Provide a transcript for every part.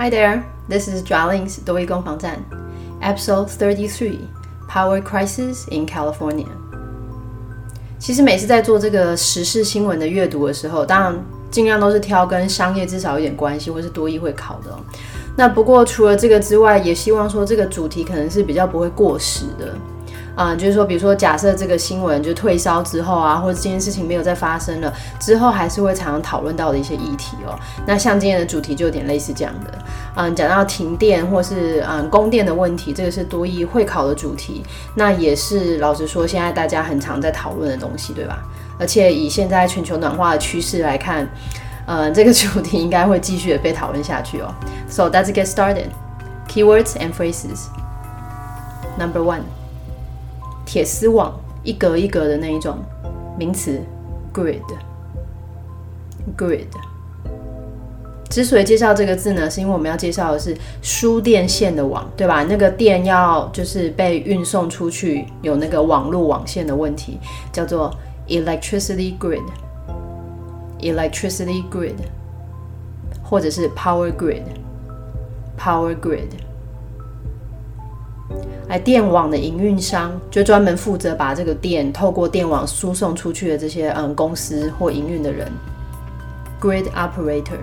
Hi there, this is Jialing's 多益攻防战 Episode 33 Power Crisis in California。 其实每次在做这个时事新闻的阅读的时候，当然尽量都是挑跟商业至少有点关系或是多益会考的那不过除了这个之外，也希望说这个主题可能是比较不会过时的就是说比如说假设这个新闻就退烧之后啊，或者这件事情没有再发生了之后，还是会常常讨论到的一些议题那像今天的主题就有点类似这样的讲到停电或是供电的问题，这个是多益会考的主题，那也是老实说现在大家很常在讨论的东西，对吧？而且以现在全球暖化的趋势来看这个主题应该会继续的被讨论下去So let's get started. Keywords and phrases. Number 1. 铁丝网，一格一格的那一种，名词 grid。 之所以介绍这个字呢，是因为我们要介绍的是输电线的网，对吧？那个电要就是被运送出去，有那个网路网线的问题，叫做 electricity grid， 或者是 power grid。电网的营运商就专门负责把这个电透过电网输送出去的这些公司或营运的人 grid operator。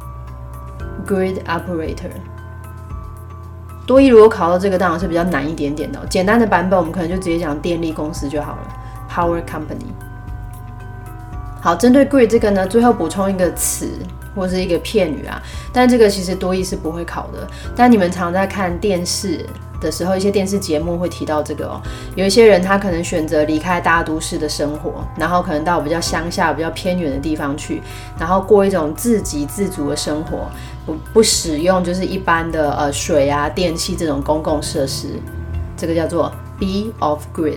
多益如果考到这个当然是比较难一点点的简单的版本我们可能就直接讲电力公司就好了， power company。 好，针对 grid 这个呢，最后补充一个词或是一个片语但这个其实多益是不会考的，但你们常在看电视的时候，一些电视节目会提到这个有一些人他可能选择离开大都市的生活，然后可能到比较乡下比较偏远的地方去，然后过一种自给自足的生活，不使用就是一般的水电器这种公共设施，这个叫做 be off grid。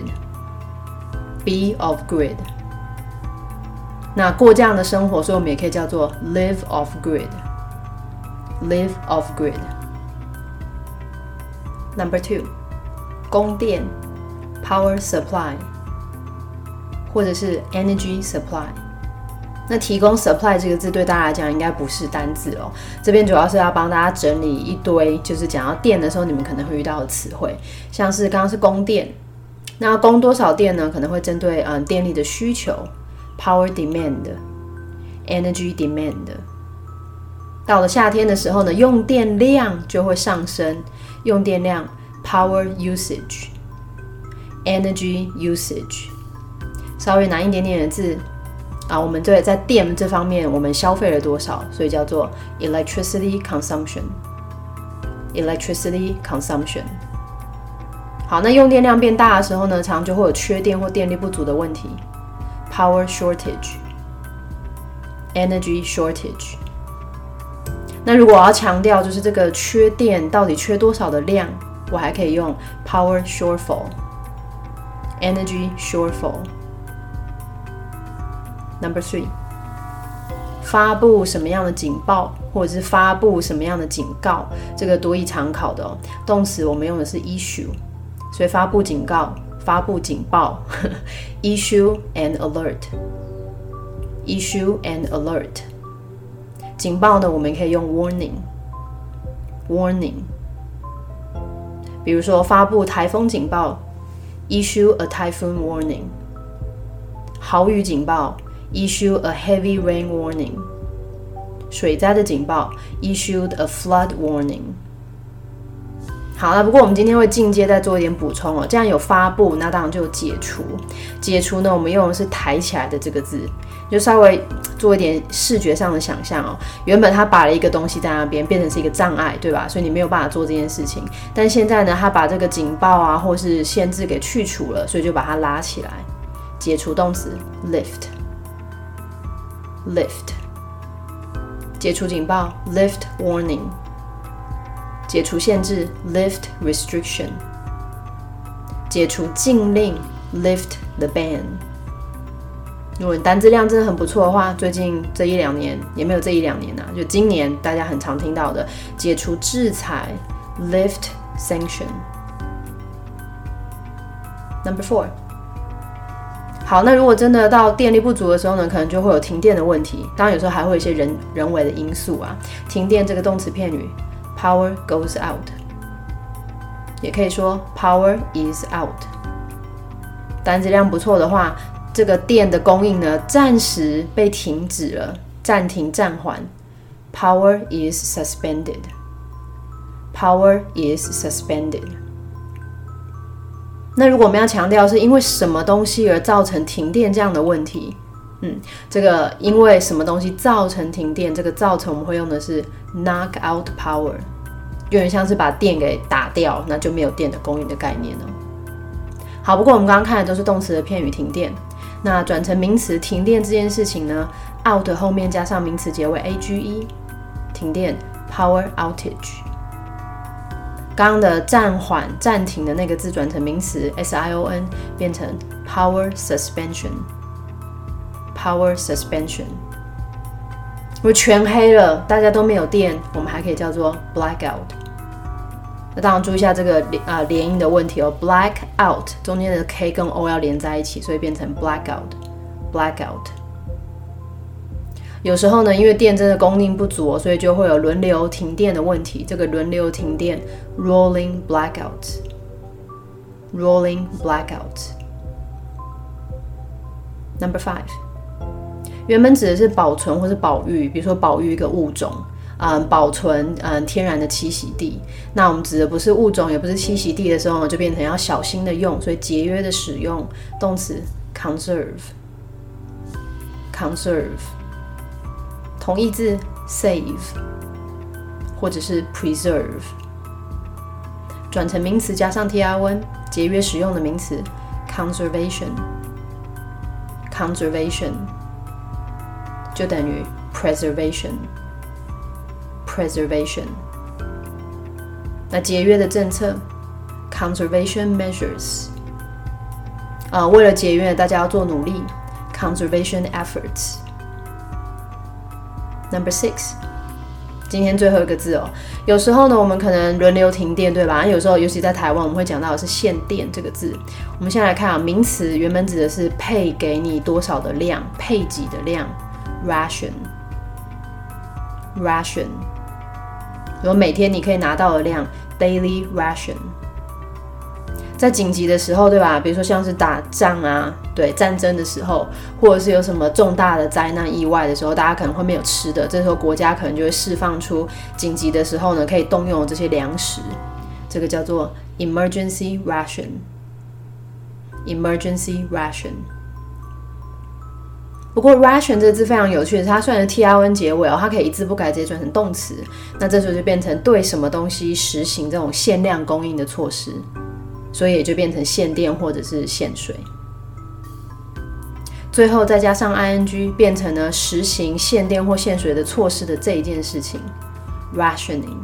那过这样的生活，所以我们也可以叫做 live off grid。 Number 2. 供电 power supply 或者是 energy supply。 那提供 supply 这个字对大家来讲应该不是单字这边主要是要帮大家整理一堆就是讲到电的时候你们可能会遇到的词汇，像是刚刚是供电，那供多少电呢？可能会针对电力的需求 power demand energy demand。 到了夏天的时候呢，用电量就会上升，用电量 power usage energy usage。 稍微难一点点的字我们对在电这方面我们消费了多少，所以叫做 electricity consumption。 好，那用电量变大的时候呢，常常就会有缺电或电力不足的问题， power shortage energy shortage。 那如果我要强调就是这个缺电到底缺多少的量，我还可以用 power shortfall energy shortfall。 Number 3. 发布什么样的警报或者是发布什么样的警告，这个多益常考的动词我们用的是 issue， 所以发布警告发布警报issue and alert。 警报呢我们可以用 warning。 比如说发布台风警报 issue a typhoon warning。 豪雨警报 issue a heavy rain warning。 水灾的警报 issued a flood warning。 好了，不过我们今天会进阶再做一点补充这样有发布，那当然就有解除。解除呢我们用的是抬起来的这个字，就稍微做一点视觉上的想象原本他摆了一个东西在那边，变成是一个障碍，对吧？所以你没有办法做这件事情。但现在呢，他把这个警报或是限制给去除了，所以就把它拉起来。解除动词 lift。 解除警报 lift warning。 解除限制 lift restriction。 解除禁令 lift the ban。如果你单字量真的很不错的话，最近这一两年也没有这一两年就今年大家很常听到的解除制裁 lift sanction。 Number 4. 好，那如果真的到电力不足的时候呢，可能就会有停电的问题，当然有时候还会有一些人为的因素停电这个动词片语 power goes out， 也可以说 power is out。单字量不错的话，这个电的供应呢，暂时被停止了，暂停暂缓。Power is suspended. Power is suspended. 那如果我们要强调是因为什么东西而造成停电这样的问题，这个因为什么东西造成停电，这个造成我们会用的是 knock out power， 有点像是把电给打掉，那就没有电的供应的概念了。好，不过我们刚刚看的都是动词的片语停电，那转成名词停电这件事情呢 ，out 后面加上名词结尾 age， 停电 power outage。刚刚的暂缓、暂停的那个字转成名词 sion， 变成 power suspension。Power suspension。如果全黑了，大家都没有电，我们还可以叫做 blackout。那当然注意一下这个连音的问题哦 ，blackout 中间的 k 跟 o 要连在一起，所以变成 blackout。blackout。有时候呢，因为电真的供应不足，所以就会有轮流停电的问题。这个轮流停电 rolling blackout。rolling blackout。Number 5。原本指的是保存或是保育，比如说保育一个物种，保存天然的栖息地。那我们指的不是物种，也不是栖息地的时候呢，就变成要小心的用，所以节约的使用动词 conserve。同义字 save 或者是 preserve。转成名词加上 tr 节约使用的名词 conservation。就等于 preservation。那节约的政策 conservation measures。为了节约，大家要做努力 conservation efforts。Number 6， 今天最后一个字哦。有时候呢，我们可能轮流停电，对吧？有时候，尤其在台湾，我们会讲到的是限电这个字。我们先来看名词原本指的是配给你多少的量，配给的量。Ration。如果每天你可以拿到的量 daily ration。在紧急的时候，对吧？比如说像是打仗啊，对，战争的时候，或者是有什么重大的灾难意外的时候，大家可能会没有吃的，这时候国家可能就会释放出紧急的时候呢，可以动用这些粮食，这个叫做 emergency ration。不过 ration 这个字非常有趣的是，它虽然是 tr 结尾它可以一字不改直接转成动词，那这时候就变成对什么东西实行这种限量供应的措施，所以也就变成限电或者是限水。最后再加上 ing， 变成了实行限电或限水的措施的这一件事情 rationing。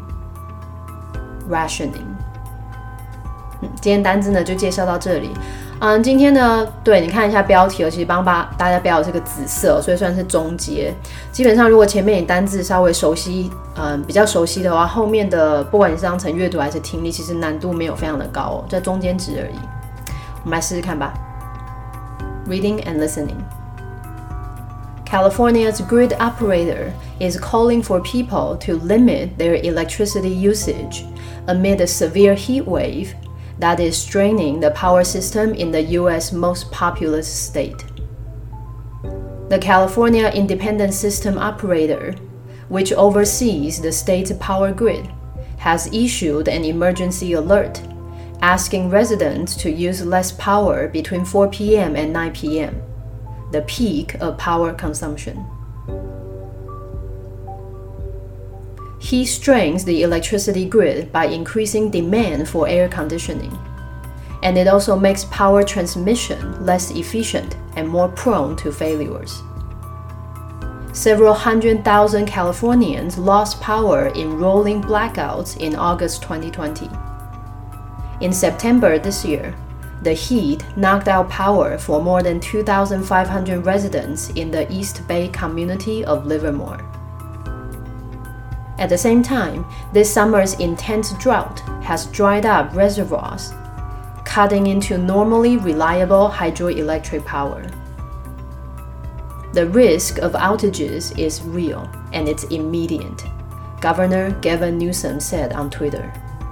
今天单字呢就介绍到这里。今天呢，对，你看一下标题其实帮大家标的是个紫色，所以算是中阶。基本上如果前面你单字稍微熟悉，比较熟悉的话，后面的不管你是当成阅读还是听力，其实难度没有非常的高在中间值而已。我们来试试看吧。Reading and listening. California's grid operator is calling for people to limit their electricity usage amid a severe heat wave that is straining the power system in the U.S. most populous state. The California Independent System Operator, which oversees the state's power grid, has issued an emergency alert, asking residents to use less power between 4 p.m. and 9 p.m., the peak of power consumption. He strains the electricity grid by increasing demand for air conditioning, and it also makes power transmission less efficient and more prone to failures. Several 100,000 Californians lost power in rolling blackouts in August 2020. In September this year, the heat knocked out power for more than 2,500 residents in the East Bay community of Livermore. At the same time, this summer's intense drought has dried up reservoirs, cutting into normally reliable hydroelectric power. The risk of outages is real and it's immediate, Governor Gavin Newsom said on Twitter.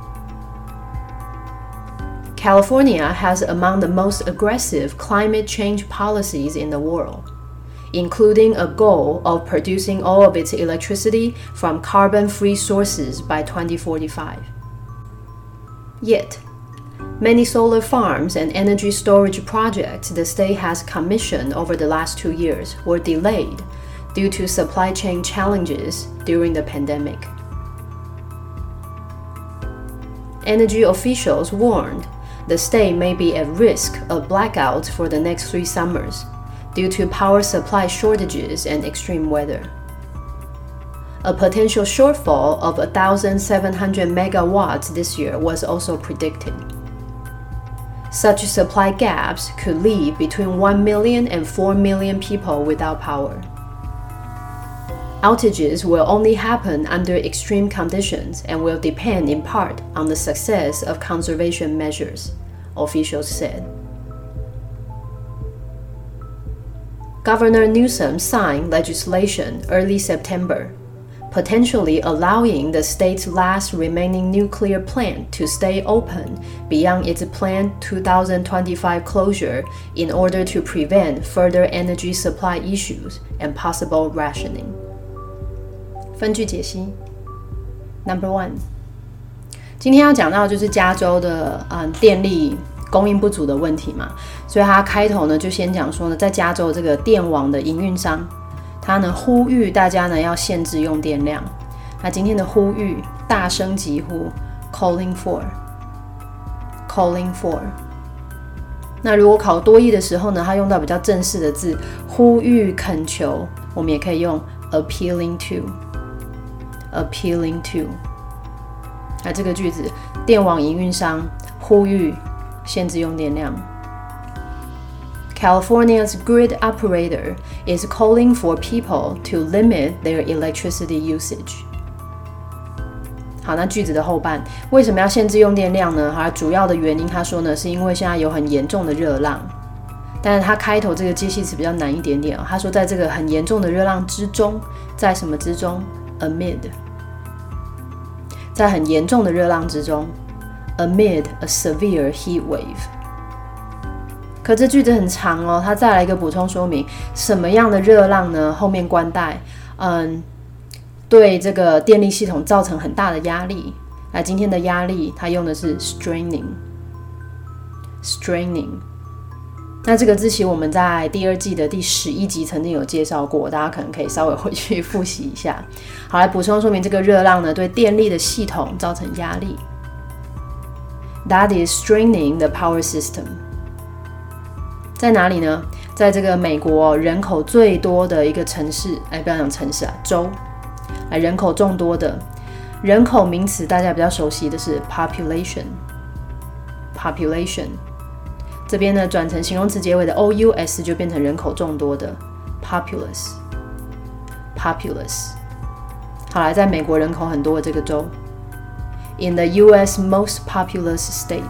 California has among the most aggressive climate change policies in the world, including a goal of producing all of its electricity from carbon-free sources by 2045. Yet, many solar farms and energy storage projects the state has commissioned over the last 2 years were delayed due to supply chain challenges during the pandemic. Energy officials warned the state may be at risk of blackouts for the next 3 summers due to power supply shortages and extreme weather. A potential shortfall of 1,700 megawatts this year was also predicted. Such supply gaps could leave between 1 million and 4 million people without power. Outages will only happen under extreme conditions and will depend in part on the success of conservation measures, officials said. Governor Newsom signed legislation early September, potentially allowing the state's last remaining nuclear plant to stay open beyond its planned 2025 closure in order to prevent further energy supply issues and possible rationing. 分句解析 Number 1， 今天要讲到就是加州的电力供应不足的问题嘛，所以他开头呢就先讲说呢，在加州这个电网的营运商，他呢呼吁大家呢要限制用电量。那今天的呼吁，大声疾呼 ，calling for。那如果考多益的时候呢，他用到比较正式的字，呼吁、恳求，我们也可以用 appealing to。那这个句子，电网营运商呼吁限制用电量。California's grid operator is calling for people to limit their electricity usage. 好，那句子的后半，为什么要限制用电量呢？主要的原因，他说呢，是因为现在有很严重的热浪。但是他开头这个介系词比较难一点点他说在这个很严重的热浪之中，在什么之中 ？Amid， 在很严重的热浪之中 ，amid a severe heat wave。可这句子很长他再来一个补充说明，什么样的热浪呢？後面冠帶，对这个电力系统造成很大的压力。那今天的压力，它用的是 straining。那这个字其实我们在第2季的第11集曾经有介绍过，大家可能可以稍微回去复习一下。好，来补充说明这个热浪呢，对电力的系统造成压力。That is straining the power system。在哪里呢？在这个美国人口最多的一个城市，不要讲城市州，人口众多的人口名词，大家比较熟悉的是 population。这边呢转成形容词结尾的 ous 就变成人口众多的 populous。好，来在美国人口很多的这个州 ，in the U.S. most populous state。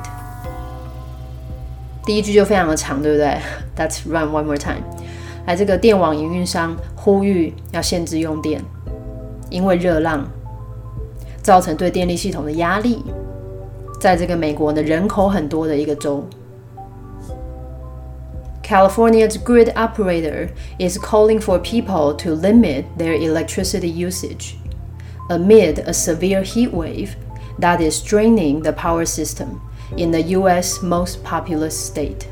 第一句就非常的长，对不对 ？Let's run one more time。来，这个电网营运商呼吁要限制用电，因为热浪造成对电力系统的压力，在这个美国的人口很多的一个州。California's grid operator is calling for people to limit their electricity usage amid a severe heat wave that is straining the power system in the U.S. most populous state.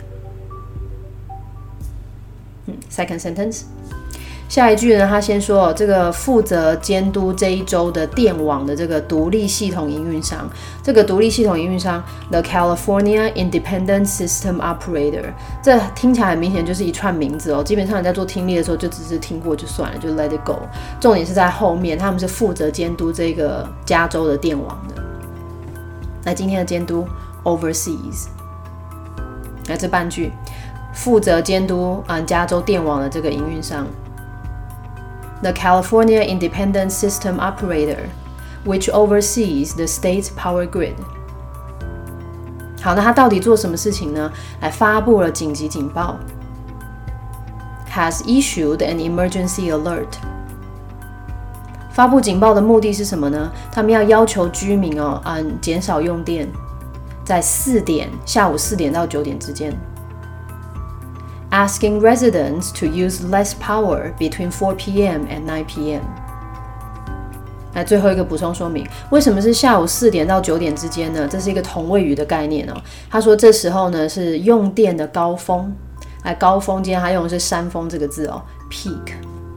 Second sentence. 下一句呢，他先说这个负责监督这一州的电网的这个独立系统营运商，这个独立系统营运商 The California Independent System Operator， 这听起来很明显就是一串名字基本上你在做听力的时候就只是听过就算了，就 let it go。重点是在后面，他们是负责监督这个加州的电网的。那今天的监督 oversees， 那这半句负责监督加州电网的这个营运商。The California Independent System Operator, which oversees the state's power grid. 好，那他到底做什么事情呢？来发布了紧急警报 ，has issued an emergency alert. 发布警报的目的是什么呢？他们要求居民减少用电，在下午4点到9点之间。Asking residents to use less power between 4 p.m. and 9 p.m. 来，最后一个补充说明，为什么是下午4点到9点之间呢？这是一个同位语的概念哦。他说这时候呢是用电的高峰，来高峰，今天他用的是山峰这个字哦 ，peak，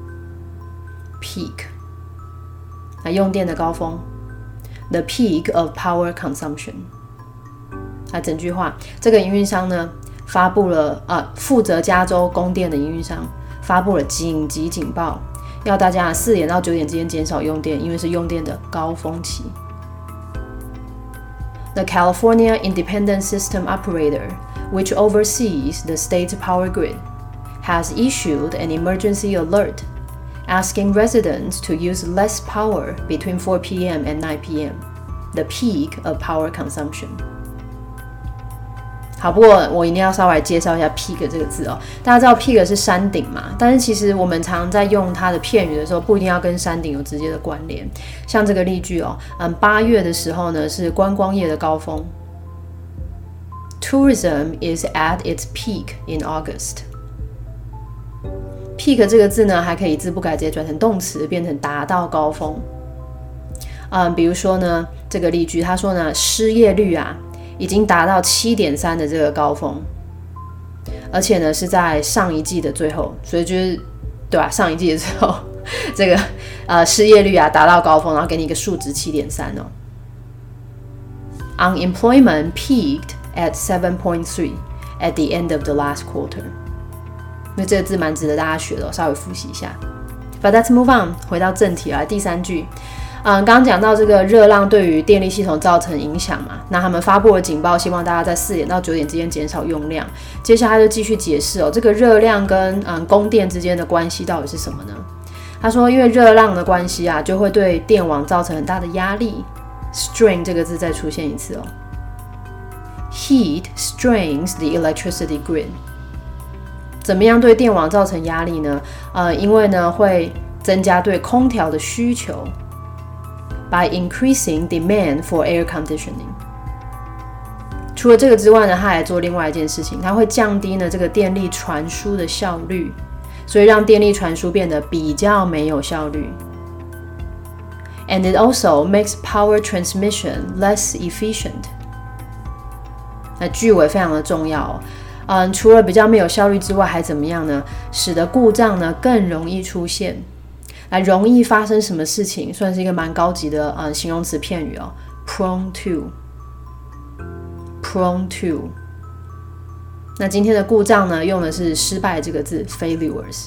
来用电的高峰 ，the peak of power consumption。来，整句话，这个营运商呢发布了负责加州供电的营运商发布了紧急警报。要大家4点到9点之间减少用电，因为是用电的高峰期。The California Independent System Operator, which oversees the state's power grid, has issued an emergency alert, asking residents to use less power between 4 p.m. and 9 p.m., the peak of power consumption. 好，不过我一定要稍微介绍一下 peak 这个字哦。大家知道 peak 是山顶嘛，但是其实我们常在用它的片语的时候，不一定要跟山顶有直接的关联。像这个例句哦，8月的时候呢是观光业的高峰。Tourism is at its peak in August. Peak 这个字呢，还可以一字不改直接转成动词，变成达到高峰。比如说呢，这个例句他说呢，失业率已经达到7.3的这个高峰，而且呢是在上一季的最后，所以就是对吧？上一季的时候，这个失业率达到高峰，然后给你一个数值7.3哦。Unemployment peaked at 7.3 at the end of the last quarter. 因为这个字蛮值得大家学的，稍微复习一下。But let's move on， 回到正题来，第3句。刚刚讲到这个热浪对于电力系统造成影响嘛，那他们发布了警报，希望大家在4点到9点之间减少用量。接下来就继续解释这个热量跟供电之间的关系到底是什么呢？他说，因为热浪的关系就会对电网造成很大的压力。strain 这个字再出现一次Heat strains the electricity grid. 怎么样对电网造成压力呢？因为呢会增加对空调的需求。By increasing demand for air conditioning. 除了这个之外呢，它还做另外一件事情，它会降低呢这个电力传输的效率，所以让电力传输变得比较没有效率。And it also makes power transmission less efficient. 那句尾非常的重要除了比较没有效率之外，还怎么样呢？使得故障呢更容易出现。容易发生什么事情，算是一个蛮高级的形容词片语prone to。那今天的故障呢，用的是失败这个字 failures。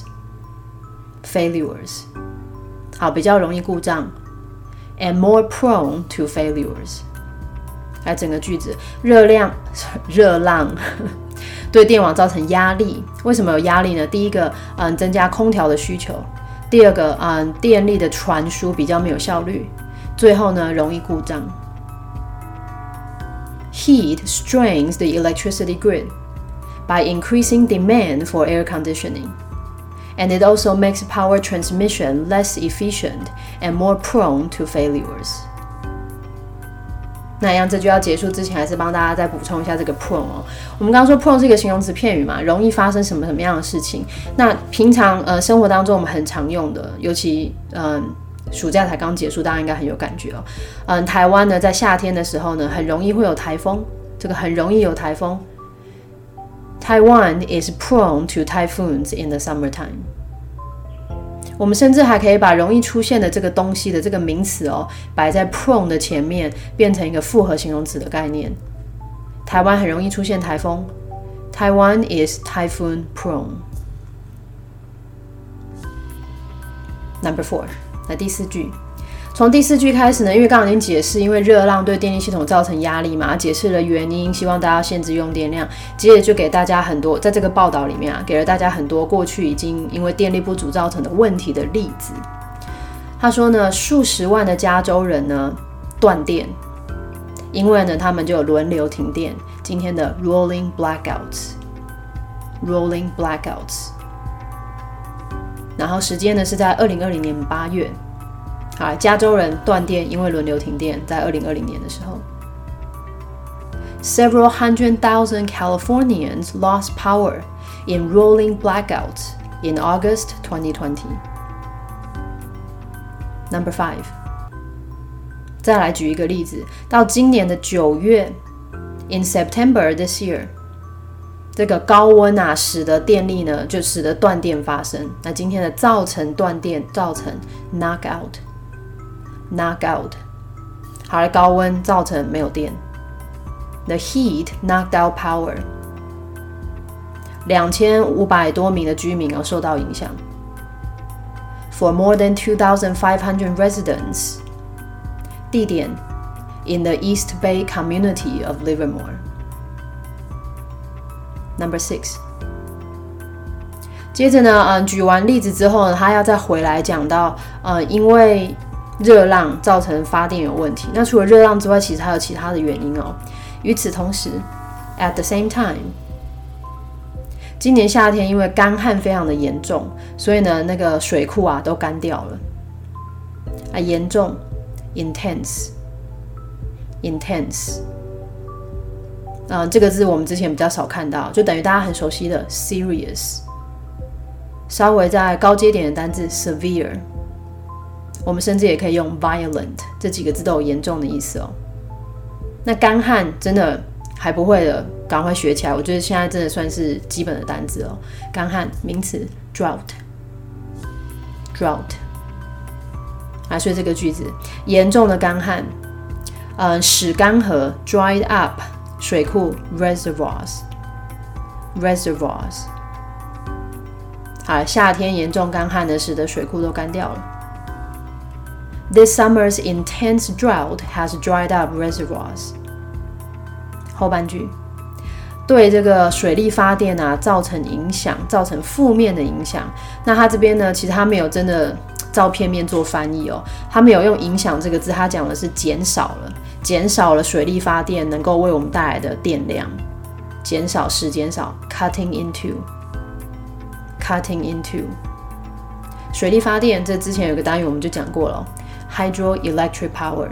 好，比较容易故障 and more prone to failures。来，整个句子，热浪对电网造成压力。为什么有压力呢？第一个增加空调的需求。第二个电力的传输比较没有效率。最后呢，容易故障。Heat strains the electricity grid by increasing demand for air conditioning, and it also makes power transmission less efficient and more prone to failures. 那样这就要结束之前，还是帮大家再补充一下这个 prone 我们刚刚说 prone 是一个形容词片语嘛，容易发生什么样的事情。那平常生活当中我们很常用的，尤其暑假才刚结束，大家应该很有感觉台湾呢在夏天的时候呢，很容易会有台风，这个很容易有台风。Taiwan is prone to typhoons in the summertime. 我们甚至还可以把容易出现的这个东西的这个名词摆在 prone 的前面，变成一个复合形容词的概念。台湾很容易出现台风。Taiwan is typhoon prone. Number 4， 来第4句。从第4句开始呢，因为刚刚已经解释，因为热浪对电力系统造成压力嘛，解释了原因，希望大家限制用电量。接着就给大家很多，在这个报道里面给了大家很多过去已经因为电力不足造成的问题的例子。他说呢，数十万的加州人呢断电，因为呢他们就有轮流停电，今天的 rolling blackouts。然后时间呢是在2020年8月。 好，加州人断电，因为轮流停电，在2020年的时候。Several hundred thousand Californians lost power in rolling blackouts in August 2020. Number 5. 再来举一个例子，到今年的9月 ，in September this year， 这个高温啊，使得电力呢，就使得断电发生。那今天的造成断电，造成 knockout。好了，高温造成没有电。The heat knocked out power. 2500多名的居民受到影响。For more than 2,500 residents. 地点 in the East Bay community of Livermore. Number 6. 接着呢，举完例子之后呢，他要再回来讲到，因为热浪造成发电有问题。那除了热浪之外，其实还有其他的原因哦。与此同时 ，at the same time， 今年夏天因为干旱非常的严重，所以呢，那个水库啊都干掉了。严重 ，intense。这个字我们之前比较少看到，就等于大家很熟悉的 serious。稍微在高阶点的单字 severe， 我们甚至也可以用 violent， 这几个字都有严重的意思哦。那干旱真的还不会的，赶快学起来。我觉得现在真的算是基本的单字哦。干旱名词 drought。所以这个句子严重的干旱，使干涸 dried up， 水库 reservoirs。好，夏天严重干旱呢，使得水库都干掉了。This summer's intense drought has dried up reservoirs. 后半句，对这个水力发电啊造成影响，造成负面的影响。那他这边呢，其实他没有真的照片面做翻译哦，他没有用影响这个字，他讲的是减少了水力发电能够为我们带来的电量，减少 cutting into。水力发电，这之前有个单元我们就讲过了。Hydroelectric power，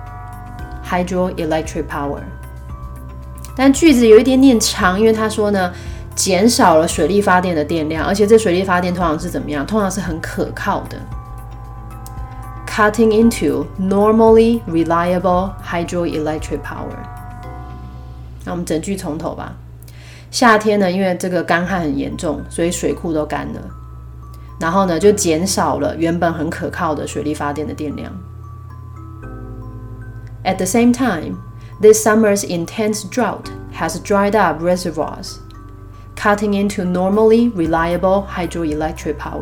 但句子有一点点长，因为他说呢，减少了水力发电的电量，而且这水力发电通常是怎么样？通常是很可靠的。Cutting into normally reliable hydroelectric power。那我们整句从头吧。夏天呢，因为这个干旱很严重，所以水库都干了。然后呢，就减少了原本很可靠的水力发电的电量。At the same time, this summer's intense drought has dried up reservoirs, cutting into normally reliable hydroelectric power.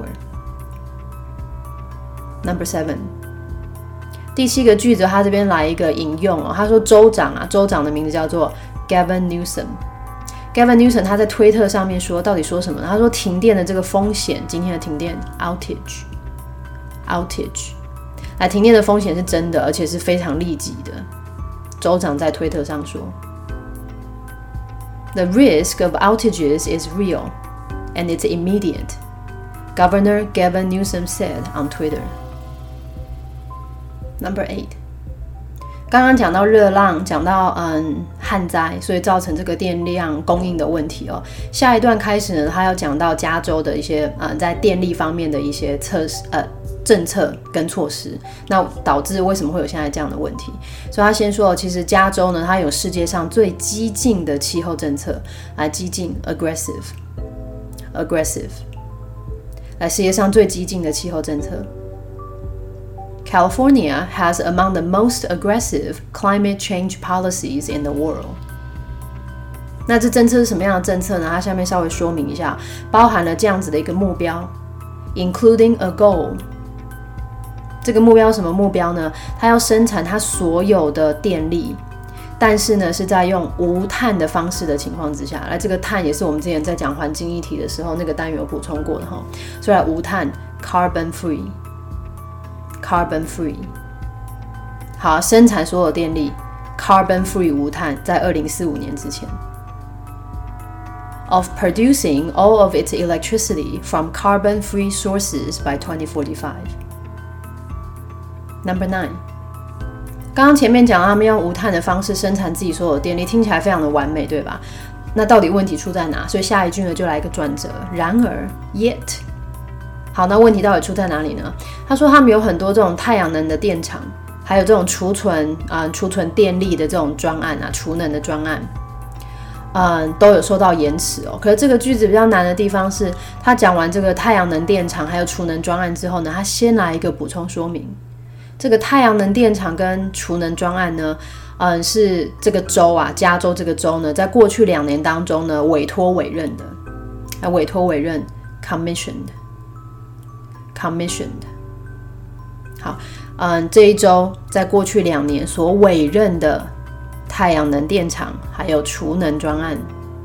Number 7. 第7个句子，他这边来一个引用哦。他说州长的名字叫做 Gavin Newsom。Gavin Newsom 他在推特上面说，到底说什么呢？他说停电的这个风险，今天的停电 outage， 来，停电的风险是真的，而且是非常立即的。州长在推特上说 ，The risk of outages is real, and it's immediate. Governor Gavin Newsom said on Twitter. Number 8. 刚刚讲到热浪，讲到旱灾，所以造成这个电量供应的问题哦。下一段开始呢，他要讲到加州的一些在电力方面的一些政策跟措施，那导致为什么会有现在这样的问题？所以他先说，其实加州呢，它有世界上最激进的气候政策，激进 aggressive， 来世界上最激进的气候政策。California has among the most aggressive climate change policies in the world. 那这政策是什么样的政策呢？它下面稍微说明一下，包含了这样子的一个目标 ，including a goal。这个目标什么目标呢？它要生产它所有的电力，但是呢是在用无碳的方式的情况之下。来，这个碳也是我们之前在讲环境议题的时候那个单元有补充过的哈。所以无碳 ，carbon free。Carbon free， 好，生产所有电力 carbon free 无碳，在2045年之前。Of producing all of its electricity from carbon free sources by 2045。 Number 9， 刚刚前面讲他们用无碳的方式生产自己所有的电力，听起来非常的完美，对吧？那到底问题出在哪？所以下一句呢就来一个转折，然而 yet。好，那问题到底出在哪里呢？他说他们有很多这种太阳能的电厂，还有这种储存电力的这种专案啊，储能的专案，都有受到延迟哦。可是这个句子比较难的地方是，他讲完这个太阳能电厂还有储能专案之后呢，他先来一个补充说明。这个太阳能电厂跟储能专案呢，是这个州啊，加州这个州呢，在过去2年当中呢，委托委任 commissioned。好，这一周在过去2年所委任的太阳能电厂还有储能专案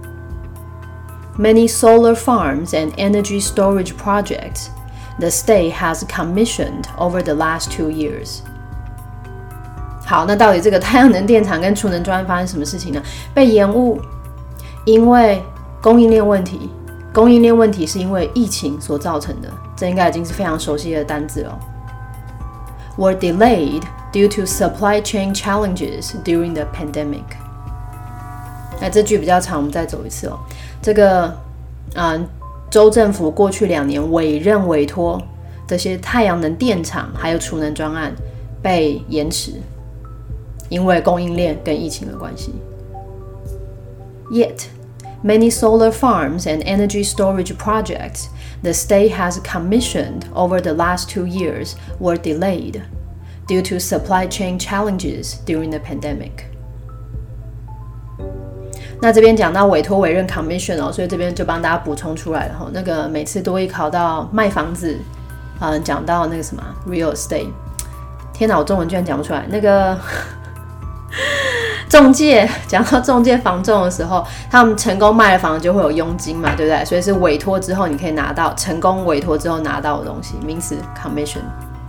，many solar farms and energy storage projects the state has commissioned over the last 2 years。好，那到底这个太阳能电厂跟储能专案发生什么事情呢？被延误，因为供应链问题。供应链问题是因为疫情所造成的，这应该已经是非常熟悉的单字了。Were delayed due to supply chain challenges during the pandemic。那这句比较长，我们再走一次哦。这个州政府过去2年委托这些太阳能电厂还有储能专案被延迟，因为供应链跟疫情的关系。Yet。Many solar farms and energy storage projects the state has commissioned over the last 2 years were delayed due to supply chain challenges during the pandemic. 那这边讲到委托委任 commission 哦，所以这边就帮大家补充出来了。那个每次都会考到卖房子，讲到那个什么 real estate， 天哪，我中文居然讲不出来。那个中介，讲到中介房仲的时候，他们成功卖了房就会有佣金嘛，对不对？所以是委托之后你可以拿到，成功委托之后拿到的东西，名词 commission，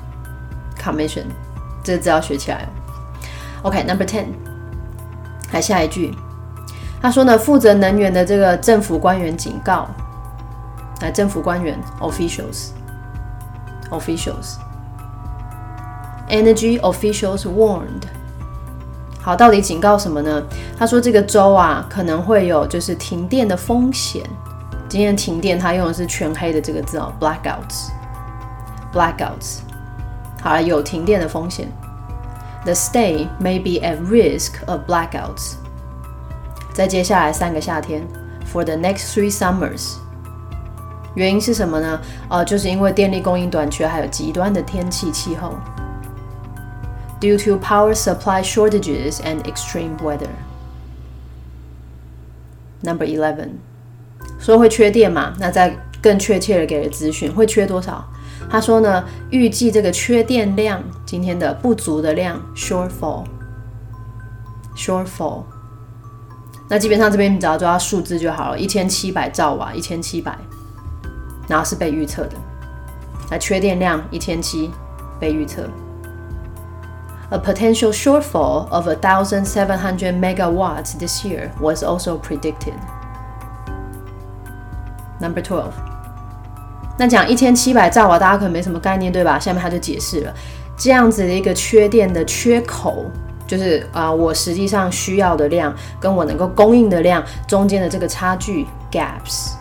这个字要学起来哦。OK，Number 10， 来下一句，他说呢，负责能源的这个政府官员警告，来政府官员 officials，energy officials warned。好，到底警告什么呢？他说这个州啊可能会有就是停电的风险。今天停电他用的是全黑的这个字哦 ，blackouts。好了，有停电的风险。The state may be at risk of blackouts。在接下来3个夏天 ，for the next 3 summers。原因是什么呢？就是因为电力供应短缺，还有极端的天气气候。Due to power supply shortages and extreme weather. Number 11， 说会缺电嘛？那再更确切的给了资讯，会缺多少？他说呢，预计这个缺电量，今天的不足的量 shortfall。那基本上这边你只要抓数字就好了，1700兆瓦，1700，然后是被预测的。那缺电量1700被预测。A potential shortfall of 1,700 megawatts this year was also predicted. Number 12. 那讲1700兆瓦，大家可能没什么概念，对吧？下面他就解释了，这样子的一个缺电的缺口，就是我实际上需要的量跟我能够供应的量中间的这个差距 gaps。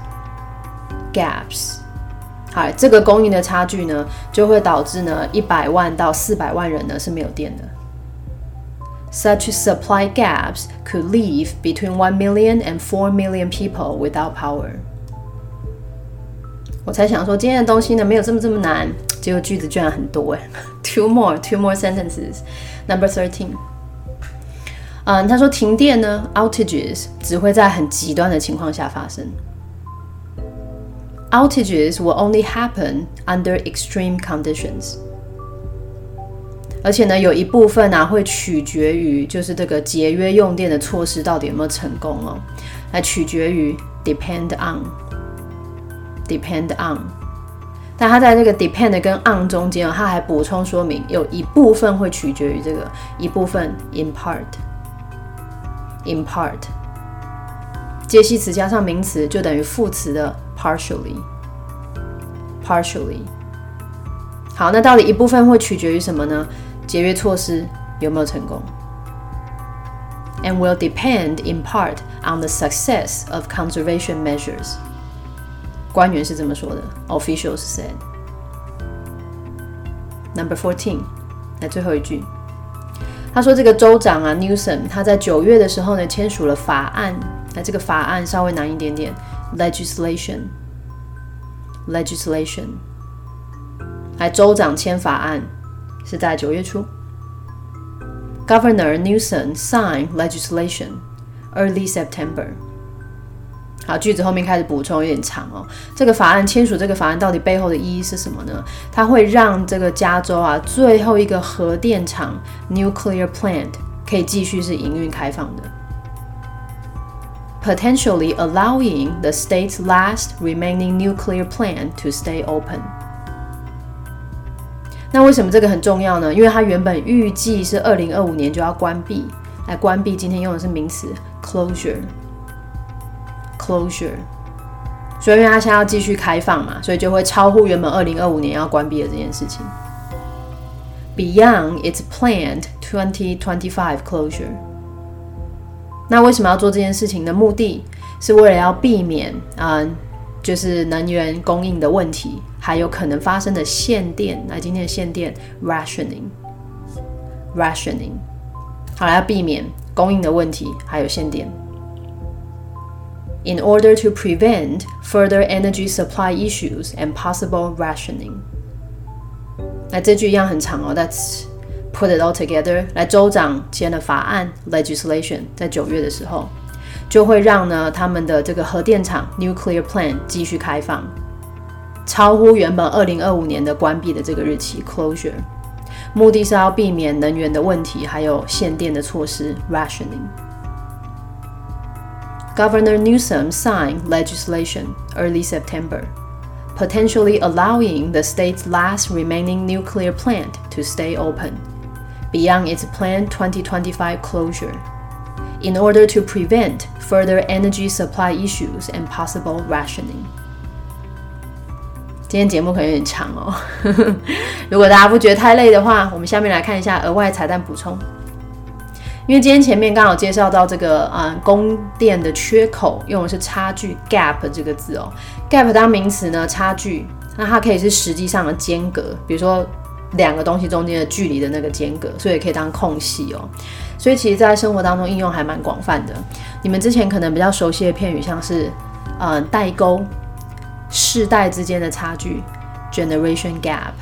好，这个供应的差距呢，就会导致呢100万到400万人呢是没有电的。Such supply gaps could leave between 1 million and 4 million people without power. 我才想说今天的东西呢没有这么难，结果句子居然很多耶。Two more sentences. Number 13. 他说停电呢 outages 只会在很极端的情况下发生。Outages will only happen under extreme conditions. 而且呢，有一部分会取决于就是这个节约用电的措施到底有没有成功哦，来取决于 depend on。但他在这个 depend 跟 on 中间他还补充说明，有一部分会取決於這個，一部分 in part。介系词加上名词就等于副词的 partially。好，那到底一部分会取决于什么呢？ 节约措施有没有成功 ？And will depend in part on the success of conservation measures. 官员是这么说的 ，officials said. Number 14， 来最后一句，他说这个州长啊 Newsom 他在9月的时候呢签署了法案，那这个法案稍微难一点点 ，legislation， 来州长签法案是在9月初。Governor Newsom signed legislation early September. 好，句子后面开始补充有点长哦。这个法案签署这个法案到底背后的意义是什么呢？它会让这个加州啊最后一个核电厂 nuclear plant 可以继续是营运开放的。Potentially allowing the state's last remaining nuclear plant to stay open. 那为什么这个很重要呢？因为它原本预计是2025年就要关闭，来关闭今天用的是名词 closure， 所以因为它现在要继续开放嘛，所以就会超乎原本2025年要关闭的这件事情。Beyond its planned 2025 closure。那为什么要做这件事情的目的是为了要避免就是能源供应的问题，还有可能发生的限电。那今天的限电 rationing， 好了，要避免供应的问题，还有限电。In order to prevent further energy supply issues and possible rationing。那这句一样很长哦 ，Let's put it all together。来，州长签了法案 legislation， 在9月的时候。就会让呢他们的这个核电厂 nuclear plant 继续开放，超乎原本2025年的关闭的这个日期 closure， 目的是要避免能源的问题，还有限电的措施 rationing。Governor Newsom signed legislation early September, potentially allowing the state's last remaining nuclear plant to stay open, beyond its planned 2025 closure.In order to prevent further energy supply issues and possible rationing. 今天节目可能有点长哦，如果大家不觉得太累的话，我们下面来看一下额外彩蛋补充。因为今天前面刚好介绍到这个供电的缺口用的是差距 gap 这个字哦 ，gap 当名词呢，差距，那它可以是实际上的间隔，比如说两个东西中间的距离的那个间隔，所以也可以当空隙哦。所以其实在生活当中应用还蛮广泛的。你们之前可能比较熟悉的片语像是代沟、世代之间的差距 generation gap，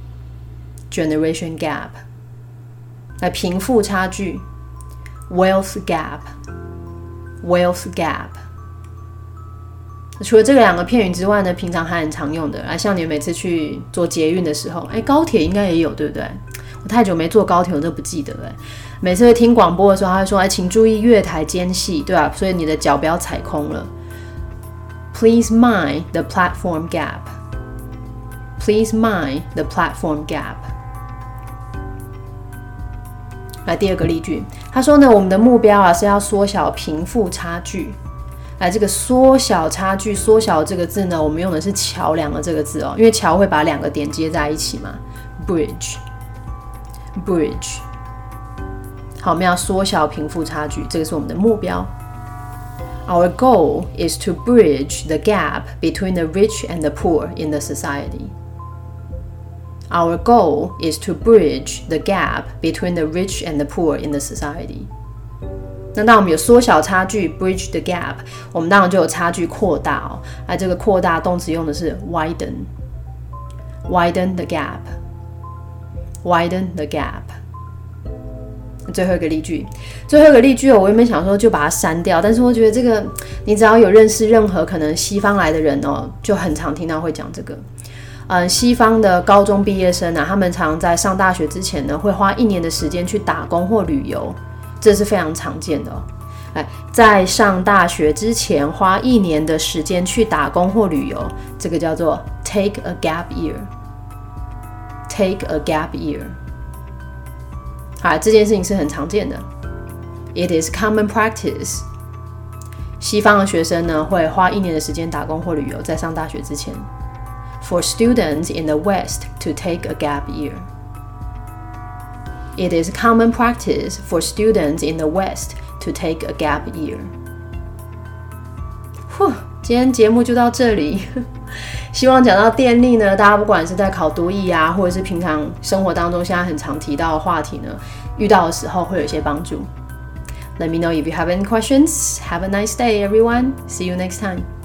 来贫富差距 wealth gap。除了这两个片语之外呢，平常还很常用的，像你们每次去坐捷运的时候，高铁应该也有，对不对？我太久没坐高铁，我都不记得了。每次会听广播的时候，他会说：“请注意月台间隙，对吧？所以你的脚不要踩空了。” Please mind the platform gap. Please mind the platform gap. 来第二个例句，他说呢，我们的目标是要缩小贫富差距。来，这个缩小差距，缩小这个字呢，我们用的是桥梁的这个字哦，因为桥会把两个点接在一起嘛 ，bridge。好，我们要缩小贫富差距，这个是我们的目标。Our goal is to bridge the gap between the rich and the poor in the society. Our goal is to bridge the gap between the rich and the poor in the society. 那当我们有缩小差距 bridge the gap， 我们当然就有差距扩大哦。这个扩大动词用的是 widen the gap。最后一个例句我原本想说就把它删掉，但是我觉得这个你只要有认识任何可能西方来的人哦，就很常听到会讲这个。西方的高中毕业生他们常在上大学之前呢，会花1年的时间去打工或旅游，这是非常常见的哦。在上大学之前花1年的时间去打工或旅游，这个叫做 take a gap year。Take a gap year。 好，这件事情是很常见的。It is common practice。 西方的学生呢，会花1年的时间打工或旅游，在上大学之前。For students in the West to take a gap year。 It is common practice for students in the West to take a gap year. 今天节目就到这里。希望讲到电力呢，大家不管是在考多益啊，或者是平常生活当中现在很常提到的话题呢，遇到的时候会有一些帮助。Let me know if you have any questions. Have a nice day, everyone. See you next time.